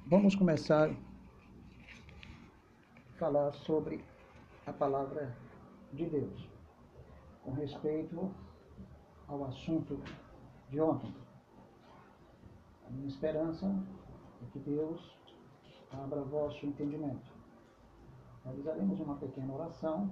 Vamos começar a falar sobre a palavra de Deus, com respeito ao assunto de ontem. A minha esperança é que Deus abra vosso entendimento. Realizaremos uma pequena oração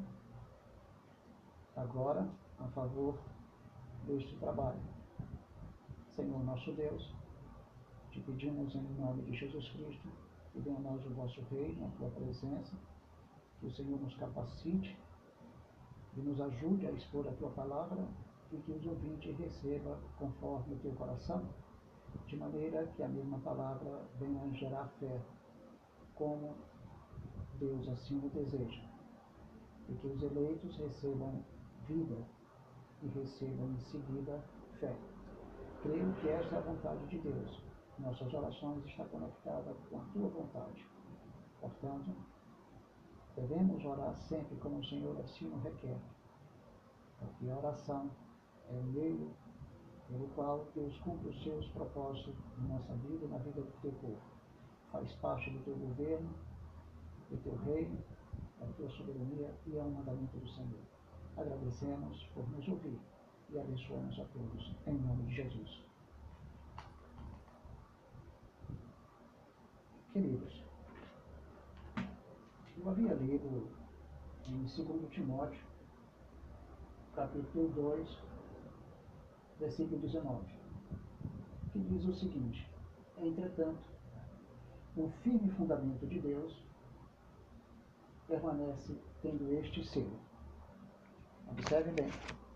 agora a favor deste trabalho. Senhor nosso Deus, te pedimos em nome de Jesus Cristo que venha a nós o vosso reino, a tua presença, que o Senhor nos capacite e nos ajude a expor a tua palavra e que os ouvintes recebam conforme o teu coração, de maneira que a mesma palavra venha a gerar fé, como Deus assim o deseja, e que os eleitos recebam vida e recebam em seguida fé. Creio que esta é a vontade de Deus. Nossas orações estão conectadas com a tua vontade. Portanto, devemos orar sempre como o Senhor assim o requer, porque a oração é o meio pelo qual Deus cumpre os seus propósitos na nossa vida e na vida do teu povo. Faz parte do teu governo, do teu reino, da tua soberania e é um mandamento do Senhor. Agradecemos por nos ouvir e abençoamos a todos, em nome de Jesus. Queridos, eu havia lido em 2 Timóteo, capítulo 2, versículo 19, que diz o seguinte: entretanto, o firme fundamento de Deus permanece tendo este selo. Observe bem.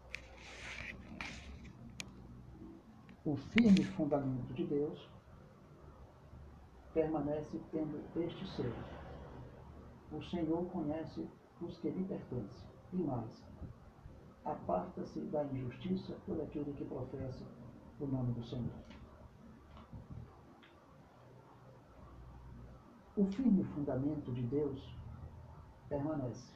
O firme fundamento de Deus permanece tendo este selo. O Senhor conhece os que lhe pertencem, e mais, aparta-se da injustiça todo aquele que professa o nome do Senhor. O firme fundamento de Deus permanece.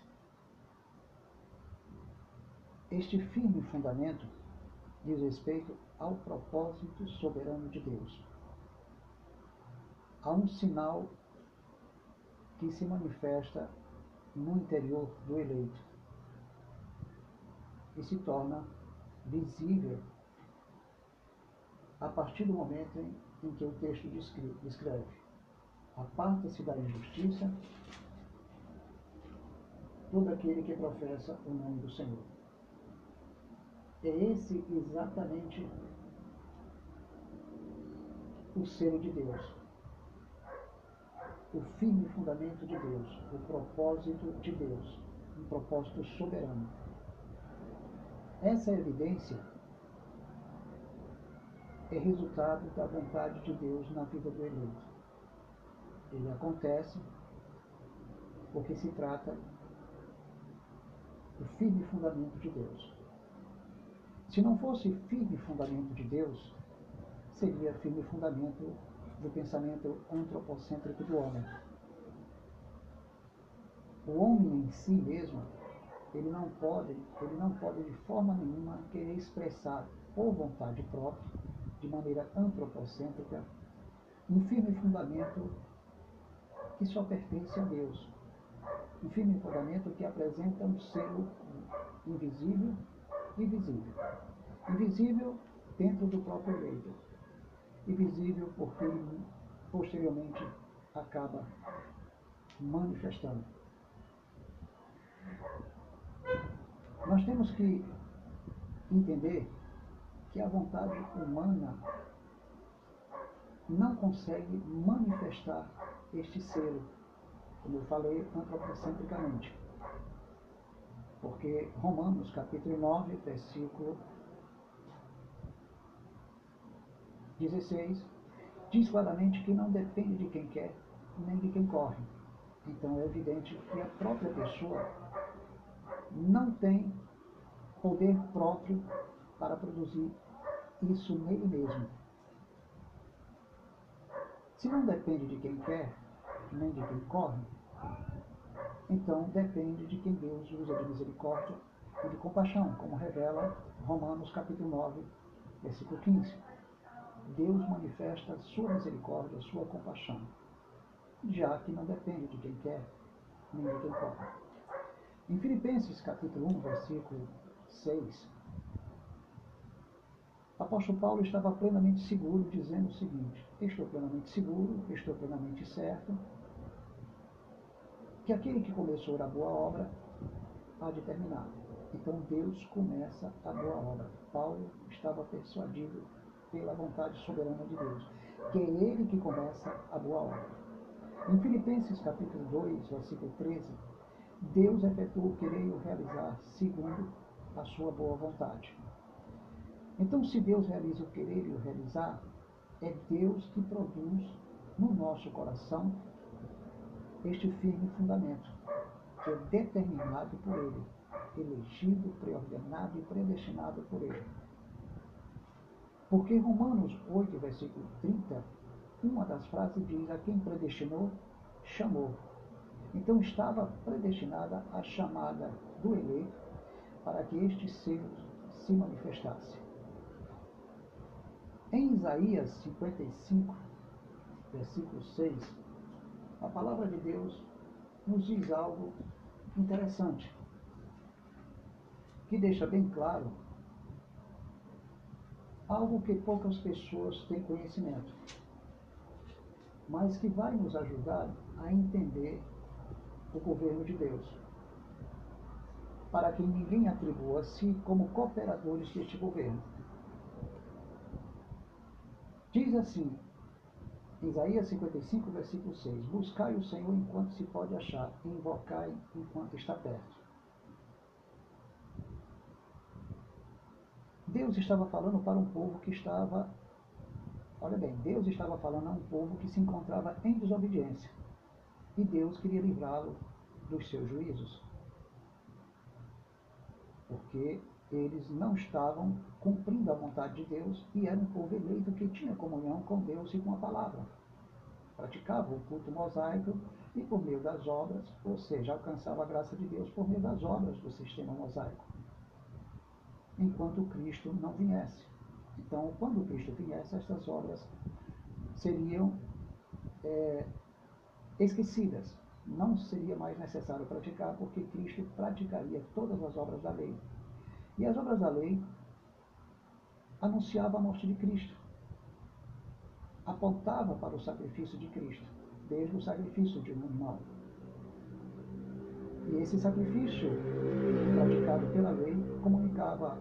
Este firme fundamento diz respeito ao propósito soberano de Deus. Há um sinal que se manifesta no interior do eleito e se torna visível a partir do momento em que o texto descreve: aparta-se da injustiça todo aquele que professa o nome do Senhor. É esse exatamente o selo de Deus, o firme fundamento de Deus, o propósito de Deus, um propósito soberano. Essa evidência é resultado da vontade de Deus na vida do eleito. Ele acontece porque se trata do firme fundamento de Deus. Se não fosse firme fundamento de Deus, seria firme fundamento do pensamento antropocêntrico do homem. O homem em si mesmo, ele não pode de forma nenhuma querer expressar por vontade própria, de maneira antropocêntrica, um firme fundamento que só pertence a Deus. Um firme fundamento que apresenta um selo invisível e visível. Invisível dentro do próprio eleito. Invisível porque ele posteriormente acaba manifestando. Nós temos que entender que a vontade humana não consegue manifestar este selo, como eu falei, antropocentricamente. Porque Romanos, capítulo 9, versículo 16, diz claramente que não depende de quem quer, nem de quem corre. Então é evidente que a própria pessoa não tem poder próprio para produzir isso nele mesmo. Se não depende de quem quer, nem de quem corre, então depende de quem Deus usa de misericórdia e de compaixão, como revela Romanos capítulo 9, versículo 15. Deus manifesta a sua misericórdia, a sua compaixão. já que não depende de quem quer, nem de quem pode. Em Filipenses capítulo 1, versículo 6, o apóstolo Paulo estava plenamente seguro, dizendo o seguinte: estou plenamente seguro, estou plenamente certo, que aquele que começou a boa obra há de terminar. Então Deus começa a boa obra. Paulo estava persuadido pela vontade soberana de Deus, que é Ele que começa a boa obra. Em Filipenses capítulo 2, versículo 13, Deus efetuou querer o realizar segundo a sua boa vontade. Então, se Deus realiza o querer e o realizar, é Deus que produz no nosso coração este firme fundamento, que é determinado por Ele, elegido, preordenado e predestinado por Ele. Porque Romanos 8, versículo 30, uma das frases diz: a quem predestinou, chamou. Então estava predestinada a chamada do eleito para que este se manifestasse. Em Isaías 55, versículo 6, a palavra de Deus nos diz algo interessante, que deixa bem claro algo que poucas pessoas têm conhecimento, mas que vai nos ajudar a entender o governo de Deus, para que ninguém atribua a si como cooperadores deste governo. Diz assim, Isaías 55, versículo 6, buscai o Senhor enquanto se pode achar, e invocai enquanto está perto. Deus estava falando para um povo que estava, olha bem, Deus estava falando a um povo que se encontrava em desobediência, e Deus queria livrá-lo dos seus juízos, porque eles não estavam cumprindo a vontade de Deus e era um povo eleito que tinha comunhão com Deus e com a palavra. Praticava o culto mosaico e por meio das obras, ou seja, alcançava a graça de Deus por meio das obras do sistema mosaico, enquanto Cristo não viesse. Então, quando Cristo viesse, essas obras seriam esquecidas. Não seria mais necessário praticar, porque Cristo praticaria todas as obras da lei. E as obras da lei anunciavam a morte de Cristo, apontava para o sacrifício de Cristo, desde o sacrifício de um animal. E esse sacrifício, praticado pela lei, comunicava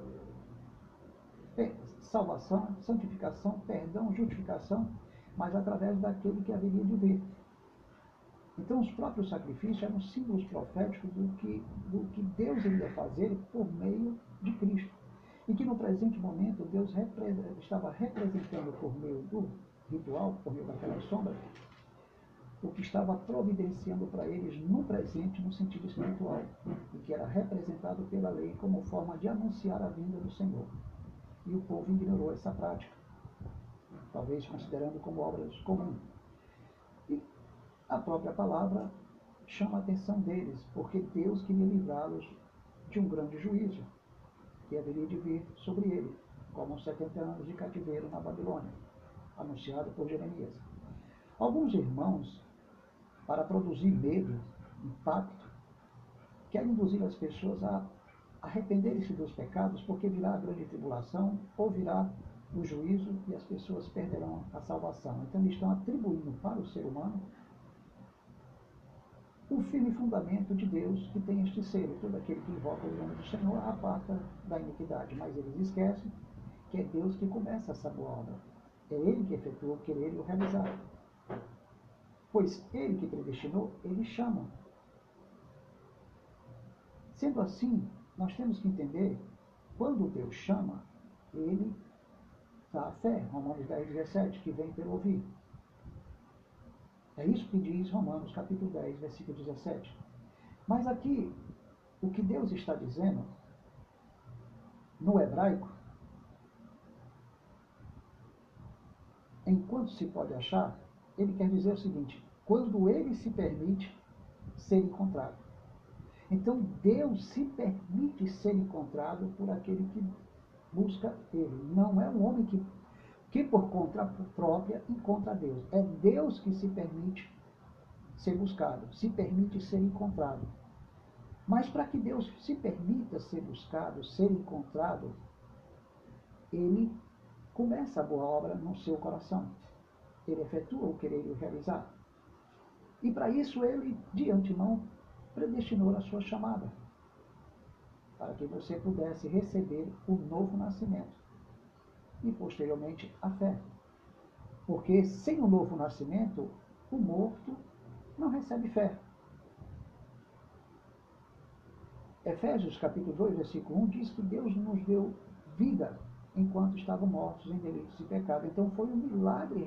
salvação, santificação, perdão, justificação, mas através daquele que haveria de vir. Então, os próprios sacrifícios eram símbolos proféticos do que Deus iria fazer por meio de Cristo. E que no presente momento Deus estava representando por meio do ritual, por meio daquelas sombras, o que estava providenciando para eles no presente, no sentido espiritual, e que era representado pela lei como forma de anunciar a vinda do Senhor. E o povo ignorou essa prática, talvez considerando como obras comuns. E a própria palavra chama a atenção deles, porque Deus queria livrá-los de um grande juízo que haveria de vir sobre ele, como os 70 anos de cativeiro na Babilônia, anunciado por Jeremias. Alguns irmãos, para produzir medo, impacto, querem induzir as pessoas a arrependerem-se dos pecados, porque virá a grande tribulação, ou virá o juízo e as pessoas perderão a salvação. Então eles estão atribuindo para o ser humano o firme fundamento de Deus que tem este selo. Todo aquele que invoca o nome do Senhor aparta da iniquidade. Mas eles esquecem que é Deus que começa essa boa obra. É Ele que efetua o querer e o realizar. Pois Ele que predestinou, Ele chama. Sendo assim, nós temos que entender, quando Deus chama, Ele dá a fé. Romanos 10, 17, que vem pelo ouvir. É isso que diz Romanos capítulo 10, versículo 17. Mas aqui, o que Deus está dizendo, no hebraico, enquanto se pode achar, ele quer dizer o seguinte: quando ele se permite ser encontrado. Então, Deus se permite ser encontrado por aquele que busca ele. Não é um homem que por conta própria encontra Deus. É Deus que se permite ser buscado, se permite ser encontrado. Mas para que Deus se permita ser buscado, ser encontrado, ele começa a boa obra no seu coração. Ele efetua o querer realizar. E para isso ele, de antemão, predestinou a sua chamada, para que você pudesse receber o novo nascimento e, posteriormente, a fé. Porque sem o novo nascimento, o morto não recebe fé. Efésios capítulo 2, versículo 1 diz que Deus nos deu vida enquanto estavam mortos em delitos e pecado. Então foi um milagre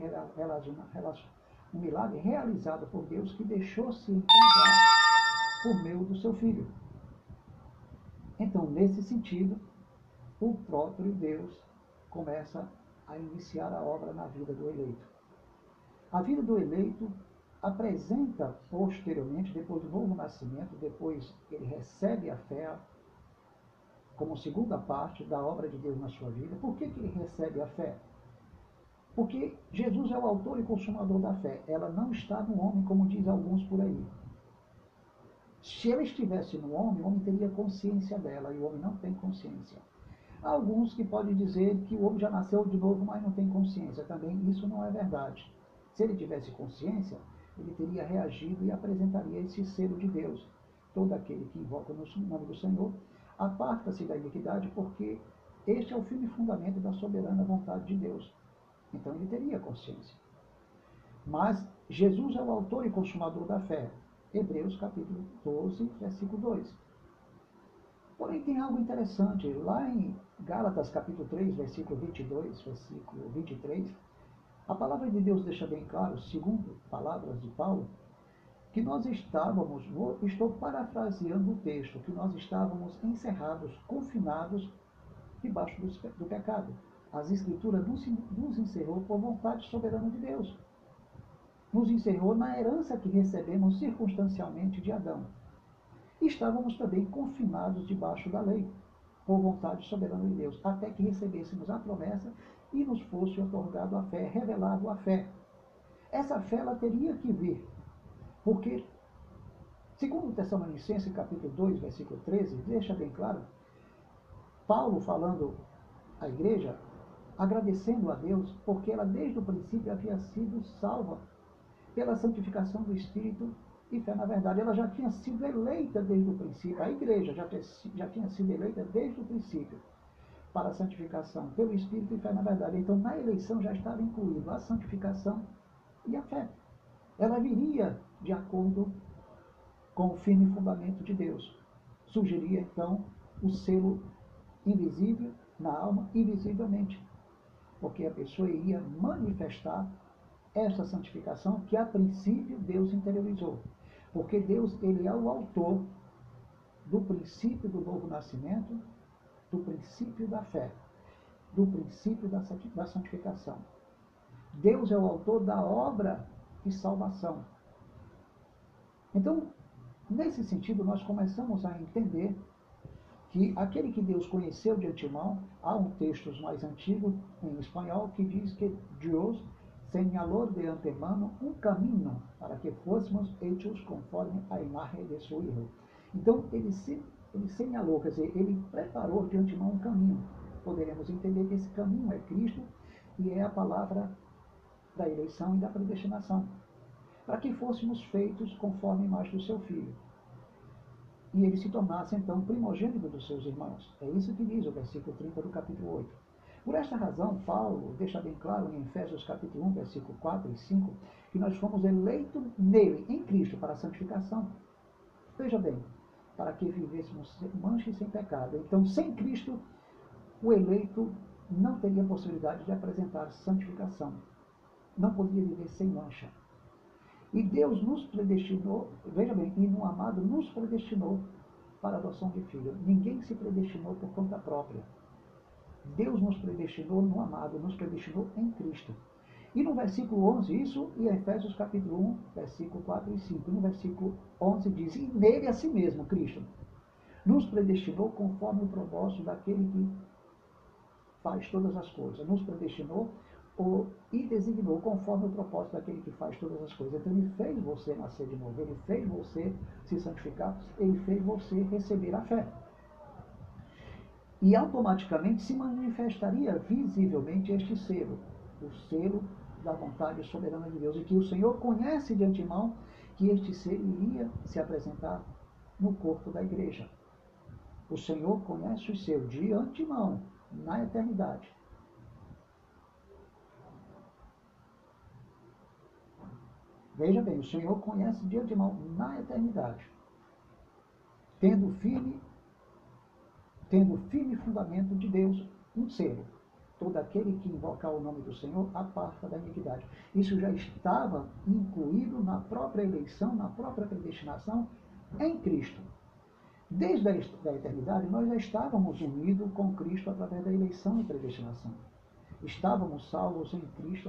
realizado por Deus que deixou-se encontrar por meio do seu Filho. Então, nesse sentido, o próprio Deus começa a iniciar a obra na vida do eleito. A vida do eleito apresenta posteriormente, depois do novo nascimento, depois ele recebe a fé como segunda parte da obra de Deus na sua vida. Por que ele recebe a fé? Porque Jesus é o autor e consumador da fé. Ela não está no homem, como diz alguns por aí. Se ela estivesse no homem, o homem teria consciência dela, e o homem não tem consciência. Há alguns que podem dizer que o homem já nasceu de novo, mas não tem consciência. Também isso não é verdade. Se ele tivesse consciência, ele teria reagido e apresentaria esse selo de Deus. Todo aquele que invoca no nome do Senhor, aparta-se da iniquidade, porque este é o firme fundamento da soberana vontade de Deus. Então ele teria consciência. Mas Jesus é o autor e consumador da fé. Hebreus capítulo 12, versículo 2. Porém, tem algo interessante. Lá em Gálatas capítulo 3, versículo 22, versículo 23, a palavra de Deus deixa bem claro, segundo palavras de Paulo, que nós estávamos, estou parafraseando o texto, que nós estávamos encerrados, confinados debaixo do pecado. As Escrituras nos encerrou por vontade soberana de Deus. Nos encerrou na herança que recebemos circunstancialmente de Adão. E estávamos também confinados debaixo da lei, por vontade soberana de Deus, até que recebêssemos a promessa e nos fosse otorgado a fé, revelado a fé. Essa fé ela teria que vir, porque, segundo Tessalonicenses capítulo 2, versículo 13, deixa bem claro, Paulo falando à igreja, agradecendo a Deus, porque ela desde o princípio havia sido salva pela santificação do Espírito e fé na verdade. Ela já tinha sido eleita desde o princípio, a igreja já tinha sido eleita desde o princípio para a santificação pelo Espírito e fé na verdade. Então, na eleição já estava incluído a santificação e a fé. Ela viria de acordo com o firme fundamento de Deus. Surgiria, então, o selo invisível na alma, invisivelmente, porque a pessoa iria manifestar essa santificação que, a princípio, Deus interiorizou. Porque Deus, ele é o autor do princípio do novo nascimento, do princípio da fé, do princípio da santificação. Deus é o autor da obra de salvação. Então, nesse sentido, nós começamos a entender que aquele que Deus conheceu de antemão, há um texto mais antigo em espanhol que diz que Deus señaló de antemano um caminho para que fôssemos hechos conforme a imagem de seu Hijo. Então, ele señalou, quer dizer, ele preparou de antemão um caminho. Poderemos entender que esse caminho é Cristo e é a palavra da eleição e da predestinação, para que fôssemos feitos conforme a imagem do seu Filho. E ele se tornasse, então, primogênito dos seus irmãos. É isso que diz o versículo 30 do capítulo 8. Por esta razão, Paulo deixa bem claro em Efésios capítulo 1, versículo 4 e 5, que nós fomos eleitos nele, em Cristo, para a santificação. Veja bem, para que vivêssemos sem mancha e sem pecado. Então, sem Cristo, o eleito não teria possibilidade de apresentar santificação. Não podia viver sem mancha. E Deus nos predestinou, veja bem, e no amado nos predestinou para a adoção de filho. Ninguém se predestinou por conta própria. Deus nos predestinou no amado, nos predestinou em Cristo. E no versículo 11, isso em Efésios capítulo 1, versículo 4 e 5. No versículo 11 diz, e nele a si mesmo, Cristo, nos predestinou conforme o propósito daquele que faz todas as coisas. Nos predestinou e designou conforme o propósito daquele que faz todas as coisas. Então ele fez você nascer de novo, ele fez você se santificar, ele fez você receber a fé. E automaticamente se manifestaria visivelmente este selo, o selo da vontade soberana de Deus, e que o Senhor conhece de antemão que este selo iria se apresentar no corpo da igreja. O Senhor conhece o seu de antemão, na eternidade. Veja bem, o Senhor conhece de antemão, na eternidade, tendo firme fundamento de Deus, um selo. Todo aquele que invocar o nome do Senhor aparta da iniquidade. Isso já estava incluído na própria eleição, na própria predestinação em Cristo. Desde a eternidade, nós já estávamos unidos com Cristo através da eleição e predestinação. Estávamos salvos em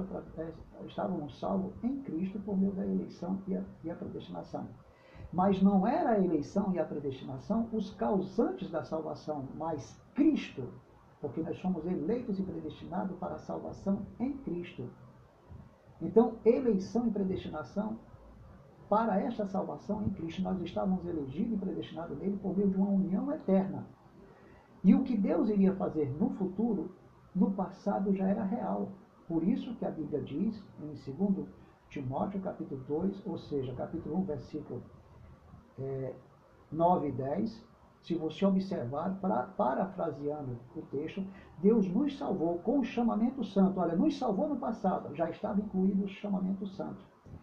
Cristo por meio da eleição e a predestinação. Mas não era a eleição e a predestinação os causantes da salvação, mas Cristo, porque nós somos eleitos e predestinados para a salvação em Cristo. Então, eleição e predestinação para esta salvação em Cristo, nós estávamos elegidos e predestinados nele por meio de uma união eterna. E o que Deus iria fazer no futuro, no passado já era real. Por isso que a Bíblia diz, em 2 Timóteo, capítulo 2, ou seja, capítulo 1, versículo 9 e 10, se você observar, parafraseando o texto, Deus nos salvou com o chamamento santo. Olha, nos salvou no passado, já estava incluído o chamamento santo.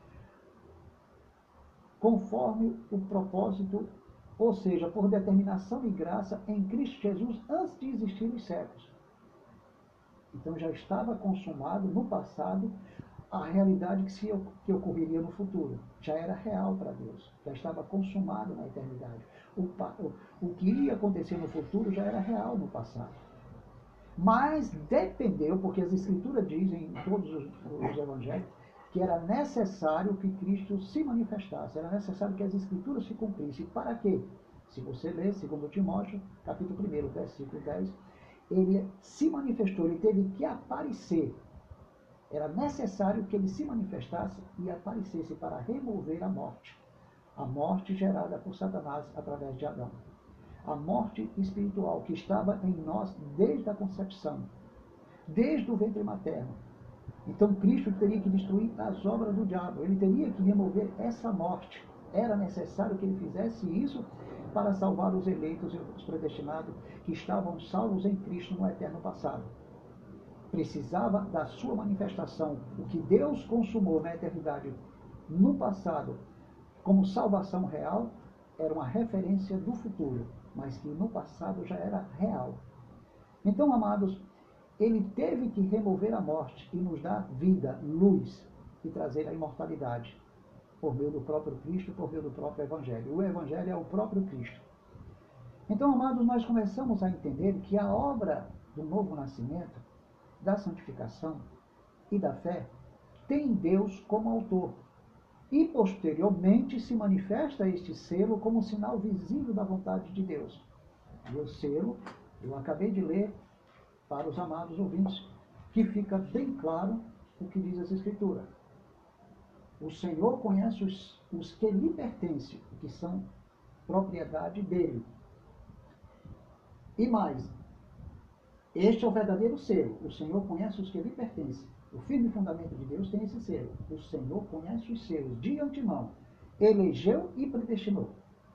Conforme o propósito, ou seja, por determinação e graça em Cristo Jesus antes de existir os séculos. Então já estava consumado no passado a realidade que ocorreria no futuro. Já era real para Deus, já estava consumado na eternidade. O que iria acontecer no futuro já era real no passado. Mas dependeu, porque as Escrituras dizem em todos os evangelhos, que era necessário que Cristo se manifestasse, era necessário que as Escrituras se cumprissem. Para quê? Se você ler 2 Timóteo, capítulo 1, versículo 10, ele se manifestou, ele teve que aparecer. Era necessário que ele se manifestasse e aparecesse para remover a morte gerada por Satanás através de Adão. A morte espiritual que estava em nós desde a concepção, desde o ventre materno. Então Cristo teria que destruir as obras do diabo, ele teria que remover essa morte. Era necessário que ele fizesse isso para salvar os eleitos e os predestinados que estavam salvos em Cristo no eterno passado. Precisava da sua manifestação. O que Deus consumou na eternidade no passado como salvação real era uma referência do futuro, mas que no passado já era real. Então, amados, ele teve que remover a morte e nos dar vida, luz e trazer a imortalidade por meio do próprio Cristo, por meio do próprio Evangelho. O Evangelho é o próprio Cristo. Então, amados, nós começamos a entender que a obra do novo nascimento, da santificação e da fé tem Deus como autor. E, posteriormente, se manifesta este selo como sinal visível da vontade de Deus. E o selo, eu acabei de ler para os amados ouvintes, que fica bem claro o que diz essa Escritura. O Senhor conhece os que lhe pertencem, que são propriedade dele. E mais, este é o verdadeiro selo. O Senhor conhece os que lhe pertencem. O firme fundamento de Deus tem esse selo. O Senhor conhece os seus de antemão. Elegeu e predestinou.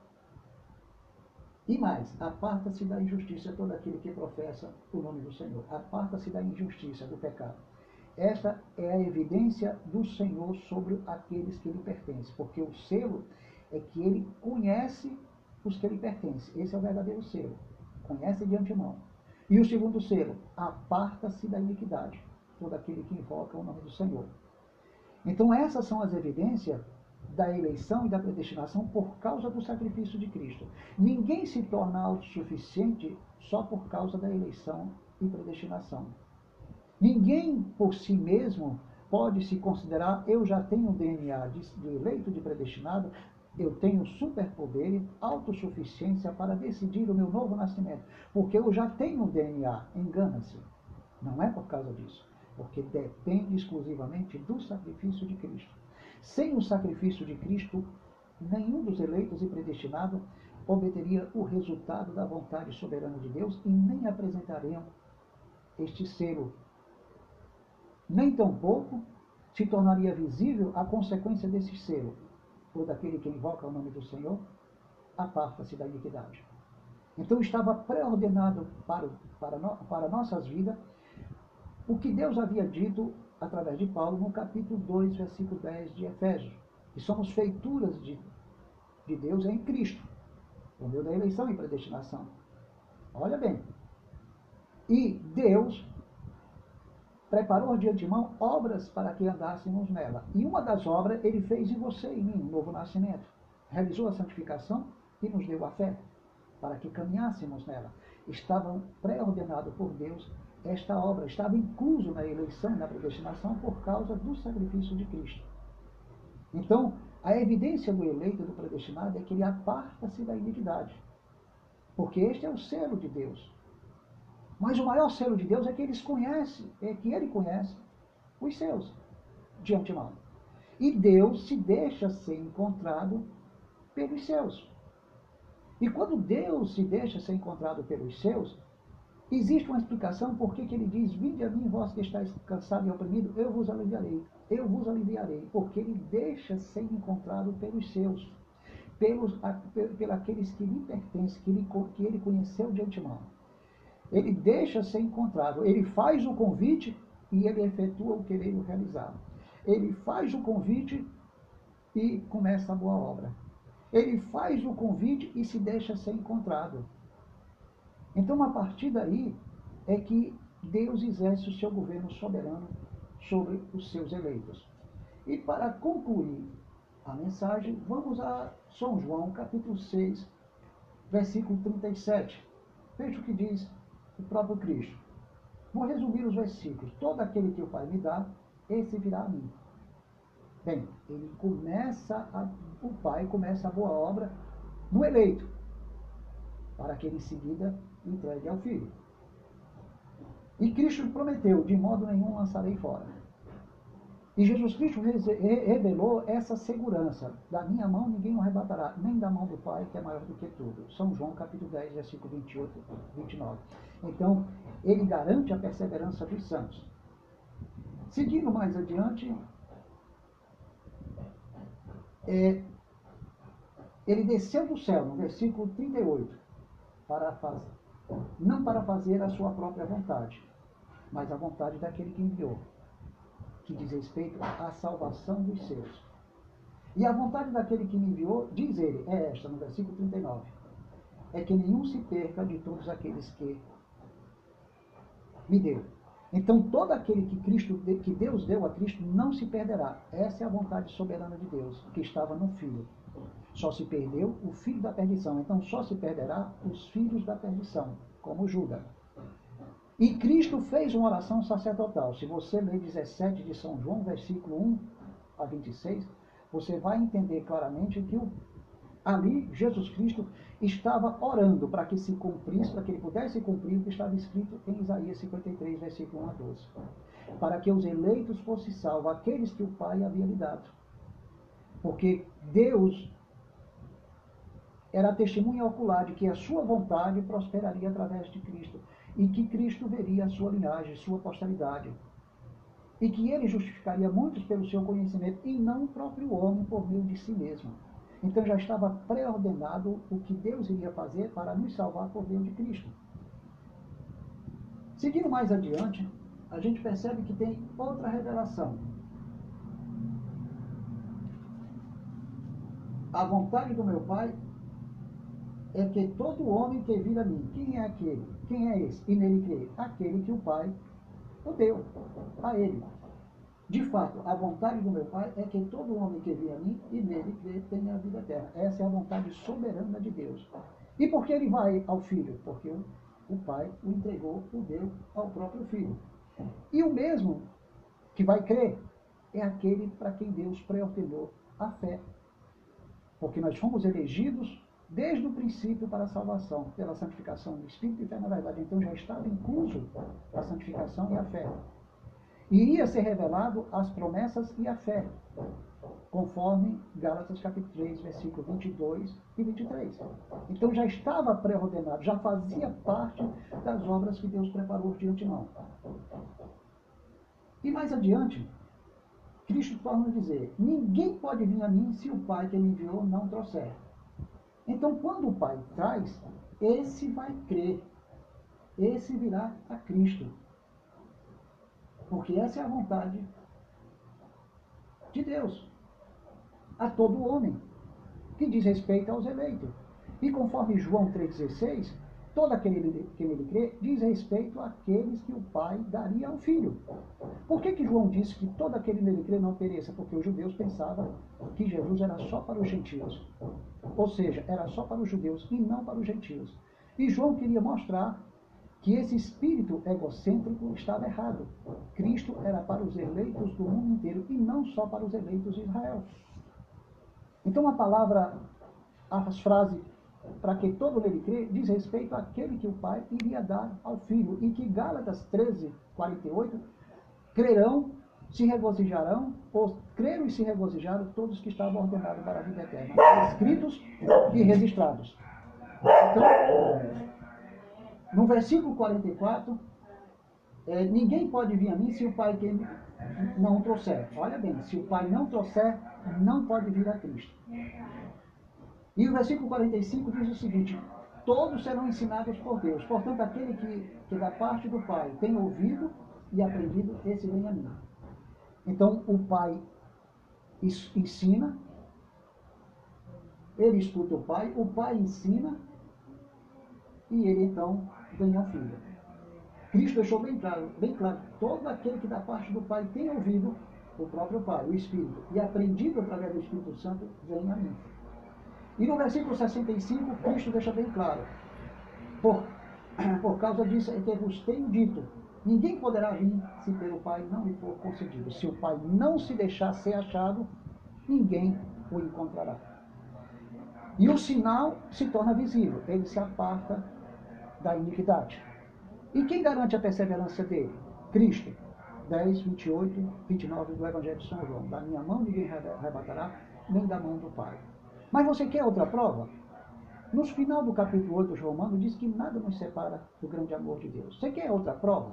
E mais, aparta-se da injustiça todo aquele que professa o nome do Senhor. Aparta-se da injustiça, do pecado. Esta é a evidência do Senhor sobre aqueles que lhe pertencem. Porque o selo é que ele conhece os que lhe pertencem. Esse é o verdadeiro selo. Conhece de antemão. E o segundo selo, aparta-se da iniquidade, todo aquele que invoca o nome do Senhor. Então essas são as evidências da eleição e da predestinação por causa do sacrifício de Cristo. Ninguém se torna autossuficiente só por causa da eleição e predestinação. Ninguém por si mesmo pode se considerar, eu já tenho DNA de eleito, de predestinado, eu tenho superpoder, autossuficiência para decidir o meu novo nascimento, porque eu já tenho DNA. Engana-se. Não é por causa disso. porque depende exclusivamente do sacrifício de Cristo. Sem o sacrifício de Cristo, nenhum dos eleitos e predestinados obteria o resultado da vontade soberana de Deus e nem apresentariam este selo. Nem tampouco se tornaria visível a consequência desse selo. Todo aquele que invoca o nome do Senhor, aparta-se da iniquidade. Então estava pré-ordenado para nossas vidas o que Deus havia dito através de Paulo no capítulo 2, versículo 10 de Efésios, que somos feituras de Deus em Cristo, por meio da eleição e predestinação. Olha bem. E Deus preparou de antemão obras para que andássemos nela. E uma das obras ele fez em você e em mim, um novo nascimento. Realizou a santificação e nos deu a fé, para que caminhássemos nela. Estava pré-ordenado por Deus esta obra, estava incluso na eleição e na predestinação por causa do sacrifício de Cristo. Então, a evidência do eleito e do predestinado é que ele aparta-se da iniquidade, porque este é o selo de Deus. Mas o maior selo de Deus é que ele conhece os seus de antemão. E Deus se deixa ser encontrado pelos seus. E quando Deus se deixa ser encontrado pelos seus, existe uma explicação por que ele diz: vinde a mim, vós que estáis cansados e oprimidos, eu vos aliviarei. Eu vos aliviarei, porque ele deixa ser encontrado pelos seus, pelos aqueles que lhe pertencem, que ele conheceu de antemão. Ele deixa ser encontrado, ele faz o convite e ele efetua o querer realizar. Ele faz o convite e começa a boa obra. Ele faz o convite e se deixa ser encontrado. Então, a partir daí, é que Deus exerce o seu governo soberano sobre os seus eleitos. E para concluir a mensagem, vamos a São João, capítulo 6, versículo 37. Veja o que diz o próprio Cristo. Vou resumir os versículos. Todo aquele que o Pai me dá, esse virá a mim. Bem, o Pai começa a boa obra no eleito, para que ele em seguida entregue ao Filho. E Cristo prometeu: de modo nenhum lançarei fora. E Jesus Cristo revelou essa segurança: da minha mão ninguém o arrebatará, nem da mão do Pai, que é maior do que tudo. São João capítulo 10, versículo 28 e 29. Então, ele garante a perseverança dos santos. Seguindo mais adiante, ele desceu do céu, no versículo 38, não para fazer a sua própria vontade, mas a vontade daquele que enviou, que diz respeito à salvação dos seus. E a vontade daquele que me enviou, diz ele, é esta, no versículo 39, é que nenhum se perca de todos aqueles que me deu. Então, todo aquele que Deus deu a Cristo não se perderá. Essa é a vontade soberana de Deus, que estava no Filho. Só se perdeu o filho da perdição. Então, só se perderá os filhos da perdição, como Judas. E Cristo fez uma oração sacerdotal. Se você ler 17 de São João, versículo 1 a 26, você vai entender claramente que ali Jesus Cristo estava orando para que se cumprisse, para que ele pudesse cumprir o que estava escrito em Isaías 53, versículo 1 a 12. Para que os eleitos fossem salvos, aqueles que o Pai havia lhe dado. Porque Deus era a testemunha ocular de que a sua vontade prosperaria através de Cristo e que Cristo veria a sua linhagem, sua posteridade, e que ele justificaria muitos pelo seu conhecimento e não o próprio homem por meio de si mesmo. Então já estava pré-ordenado o que Deus iria fazer para nos salvar por meio de Cristo. Seguindo mais adiante, a gente percebe que tem outra revelação. A vontade do meu Pai é que todo homem que vir a mim, quem é aquele? Quem é esse? E nele crer? Aquele que o Pai o deu a ele. De fato, a vontade do meu Pai é que todo homem que vir a mim e nele crer tenha a vida eterna. Essa é a vontade soberana de Deus. E por que ele vai ao Filho? Porque o Pai o entregou, o deu ao próprio Filho. E o mesmo que vai crer é aquele para quem Deus pré-ordenou a fé. Porque nós fomos elegidos desde o princípio para a salvação, pela santificação do Espírito e fé na verdade. Então já estava incluso a santificação e a fé. iria ser revelado as promessas e a fé, conforme Gálatas capítulo 3, versículo 22 e 23. Então já estava pré-ordenado, já fazia parte das obras que Deus preparou de antemão. E mais adiante, Cristo torna a dizer: ninguém pode vir a mim se o Pai que me enviou não trouxer. Então, quando o Pai traz, esse vai crer, esse virá a Cristo. Porque essa é a vontade de Deus a todo homem, que diz respeito aos eleitos. E conforme João 3,16, todo aquele que nele crê diz respeito àqueles que o Pai daria ao Filho. Por que João disse que todo aquele nele crê não pereça? Porque os judeus pensavam que Jesus era só para os gentios. Ou seja, era só para os judeus e não para os gentios. E João queria mostrar que esse espírito egocêntrico estava errado. Cristo era para os eleitos do mundo inteiro e não só para os eleitos de Israel. Então a palavra, as frases para que todo nele crê, diz respeito àquele que o Pai iria dar ao Filho. E que Gálatas 13, 48, crerão, se regozijarão, ou creram e se regozijaram todos que estavam ordenados para a vida eterna, escritos e registrados. Então, no versículo 44, ninguém pode vir a mim se o Pai que não trouxer. Olha bem, se o Pai não trouxer, não pode vir a Cristo. E o versículo 45 diz o seguinte: todos serão ensinados por Deus. Portanto, aquele que da parte do Pai tem ouvido e aprendido, esse vem a mim. Então, o Pai ensina, ele escuta o Pai ensina, e ele então vem ao Filho. Cristo deixou bem claro, todo aquele que da parte do Pai tem ouvido o próprio Pai, o Espírito, e aprendido através do Espírito Santo, vem a mim. E no versículo 65, Cristo deixa bem claro: por causa disso é que vos tenho dito, ninguém poderá vir se pelo Pai não lhe for concedido. Se o Pai não se deixar ser achado, ninguém o encontrará. E o sinal se torna visível, ele se aparta da iniquidade. E quem garante a perseverança dele? Cristo. 10, 28, 29 do Evangelho de São João. Da minha mão ninguém arrebatará, nem da mão do Pai. Mas você quer outra prova? No final do capítulo 8 de Romanos, diz que nada nos separa do grande amor de Deus. Você quer outra prova?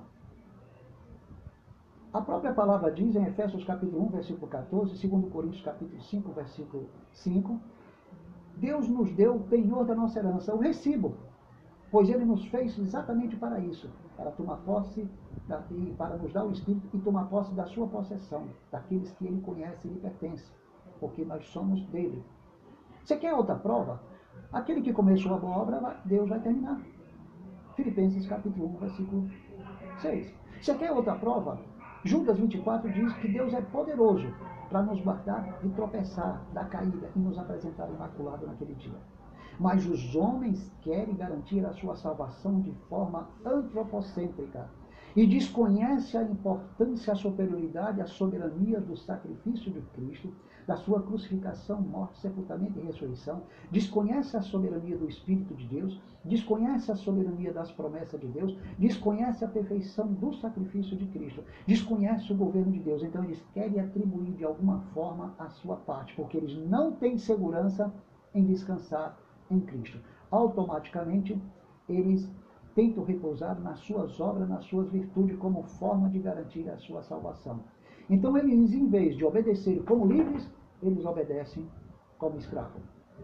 A própria palavra diz em Efésios capítulo 1, versículo 14, 2 Coríntios capítulo 5, versículo 5, Deus nos deu o penhor da nossa herança, o recibo, pois Ele nos fez exatamente para isso, para tomar posse, e para nos dar o Espírito e tomar posse da sua possessão, daqueles que Ele conhece e lhe pertence, porque nós somos dele. Você quer outra prova? Aquele que começou a boa obra, Deus vai terminar. Filipenses capítulo 1, versículo 6. Você quer outra prova? Judas 24 diz que Deus é poderoso para nos guardar de tropeçar, da caída e nos apresentar imaculado naquele dia. Mas os homens querem garantir a sua salvação de forma antropocêntrica e desconhece a importância, a superioridade, a soberania do sacrifício de Cristo, da sua crucificação, morte, sepultamento e ressurreição, desconhece a soberania do Espírito de Deus, desconhece a soberania das promessas de Deus, desconhece a perfeição do sacrifício de Cristo, desconhece o governo de Deus. Então eles querem atribuir de alguma forma a sua parte, porque eles não têm segurança em descansar em Cristo. Automaticamente eles tentam repousar nas suas obras, nas suas virtudes, como forma de garantir a sua salvação. Então eles, em vez de obedecer como livres, eles obedecem como escravos.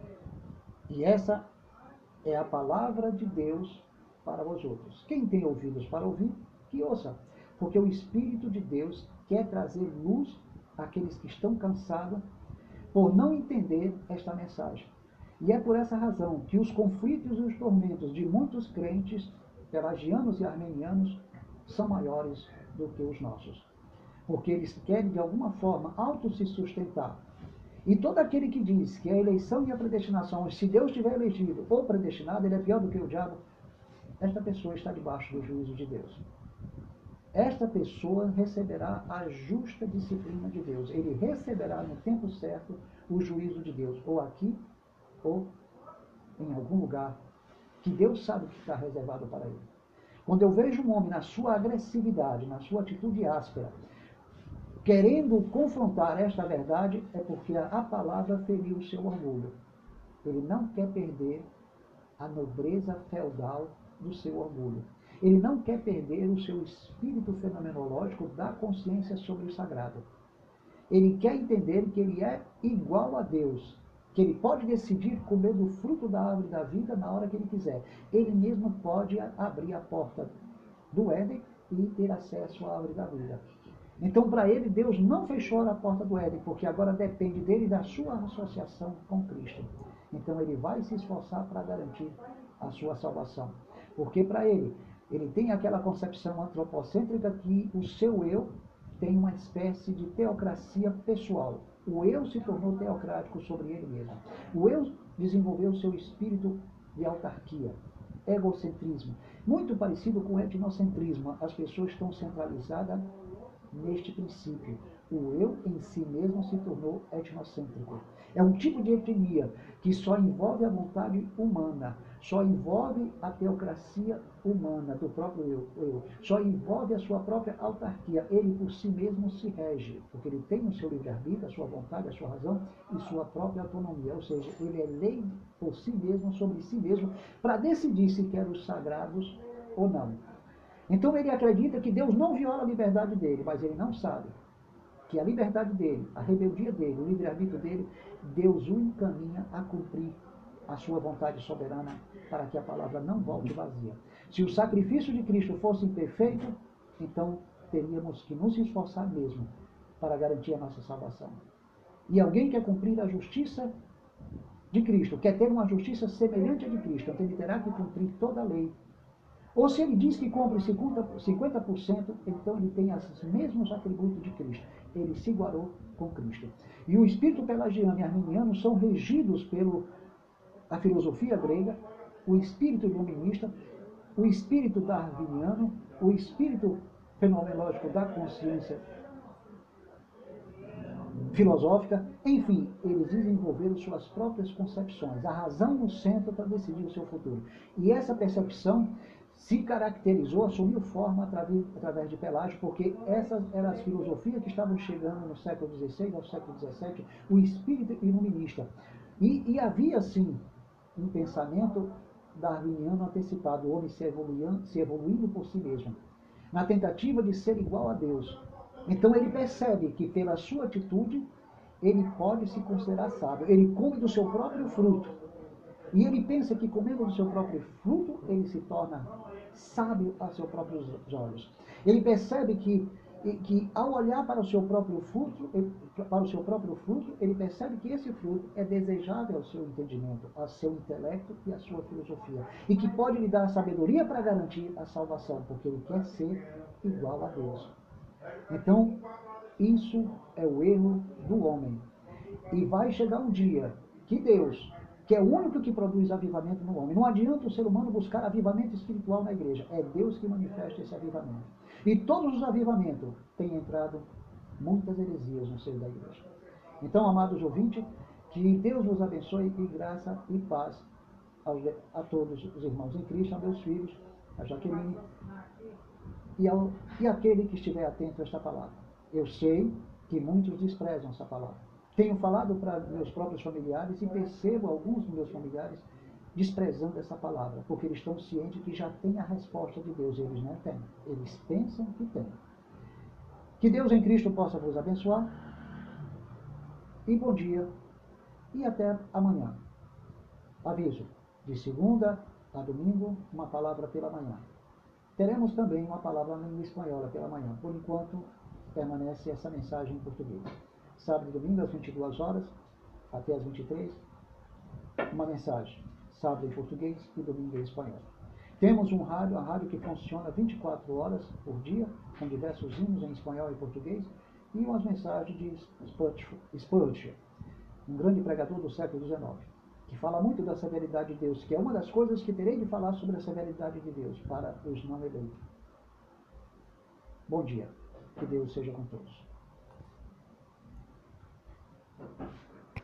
E essa é a palavra de Deus para vós outros. Quem tem ouvidos para ouvir, que ouça. Porque o Espírito de Deus quer trazer luz àqueles que estão cansados por não entender esta mensagem. E é por essa razão que os conflitos e os tormentos de muitos crentes, pelagianos e armenianos, são maiores do que os nossos. Porque eles querem, de alguma forma, se sustentar. E todo aquele que diz que a eleição e a predestinação, se Deus tiver elegido ou predestinado, ele é pior do que o diabo, esta pessoa está debaixo do juízo de Deus. Esta pessoa receberá a justa disciplina de Deus. Ele receberá no tempo certo o juízo de Deus, ou aqui, ou em algum lugar que Deus sabe que está reservado para ele. Quando eu vejo um homem na sua agressividade, na sua atitude áspera, querendo confrontar esta verdade, é porque a palavra feriu o seu orgulho. Ele não quer perder a nobreza feudal do seu orgulho. Ele não quer perder o seu espírito fenomenológico da consciência sobre o sagrado. Ele quer entender que ele é igual a Deus, que ele pode decidir comer do fruto da árvore da vida na hora que ele quiser. Ele mesmo pode abrir a porta do Éden e ter acesso à árvore da vida. Então, para ele, Deus não fechou a porta do Éden, porque agora depende dele e da sua associação com Cristo. Então, ele vai se esforçar para garantir a sua salvação. Porque para ele tem aquela concepção antropocêntrica que o seu eu tem uma espécie de teocracia pessoal. O eu se tornou teocrático sobre ele mesmo. O eu desenvolveu o seu espírito de autarquia, egocentrismo, muito parecido com o etnocentrismo. As pessoas estão centralizadas neste princípio. O eu em si mesmo se tornou etnocêntrico. É um tipo de etnia que só envolve a vontade humana, só envolve a teocracia humana do próprio eu, só envolve a sua própria autarquia. Ele por si mesmo se rege, porque ele tem o seu livre-arbítrio, a sua vontade, a sua razão e sua própria autonomia. Ou seja, ele é lei por si mesmo, sobre si mesmo, para decidir se quer os sagrados ou não. Então ele acredita que Deus não viola a liberdade dele, mas ele não sabe que a liberdade dele, a rebeldia dele, o livre-arbítrio dele, Deus o encaminha a cumprir a sua vontade soberana para que a palavra não volte vazia. Se o sacrifício de Cristo fosse imperfeito, então teríamos que nos esforçar mesmo para garantir a nossa salvação. E alguém quer cumprir a justiça de Cristo, quer ter uma justiça semelhante à de Cristo, então ele terá que cumprir toda a lei. Ou se ele diz que cumpre 50%, então ele tem os mesmos atributos de Cristo. Ele se igualou com Cristo. E o espírito pelagiano e arminiano são regidos pela filosofia grega, o espírito iluminista, o espírito darwiniano, o espírito fenomenológico da consciência filosófica, enfim, eles desenvolveram suas próprias concepções, a razão no centro para decidir o seu futuro. E essa percepção se caracterizou, assumiu forma através de Pelágio, porque essas eram as filosofias que estavam chegando no século XVI ao século XVII, o espírito iluminista. E havia, sim, um pensamento darwiniano antecipado, o homem se evoluindo por si mesmo, na tentativa de ser igual a Deus. Então ele percebe que pela sua atitude, ele pode se considerar sábio. Ele come do seu próprio fruto. E ele pensa que comendo do seu próprio fruto, ele se torna sábio a seus próprios olhos. Ele percebe que ao olhar para o seu próprio fruto, ele percebe que esse fruto é desejável ao seu entendimento, ao seu intelecto e à sua filosofia. E que pode lhe dar a sabedoria para garantir a salvação, porque ele quer ser igual a Deus. Então, isso é o erro do homem. E vai chegar um dia que Deus, que é o único que produz avivamento no homem, não adianta o ser humano buscar avivamento espiritual na igreja, é Deus que manifesta esse avivamento. E todos os avivamentos têm entrado muitas heresias no seio da igreja. Então, amados ouvintes, que Deus vos abençoe e graça e paz a todos os irmãos em Cristo, a meus filhos, a Jaqueline, e aquele que estiver atento a esta palavra. Eu sei que muitos desprezam essa palavra. Tenho falado para meus próprios familiares e percebo alguns dos meus familiares desprezando essa palavra, porque eles estão cientes que já têm a resposta de Deus. Eles não têm. Eles pensam que têm. Que Deus em Cristo possa vos abençoar. E bom dia. E até amanhã. Aviso. De segunda a domingo, uma palavra pela manhã. Teremos também uma palavra na língua espanhola pela manhã. Por enquanto, permanece essa mensagem em português. Sábado e domingo, às 22 horas, até às 23, uma mensagem. Sábado em português e domingo em espanhol. Temos um rádio, a rádio que funciona 24 horas por dia, com diversos hinos em espanhol e português, e umas mensagens de Spurgeon, um grande pregador do século XIX, que fala muito da severidade de Deus, que é uma das coisas que terei de falar sobre a severidade de Deus para os não eleitos. Bom dia. Que Deus seja com todos.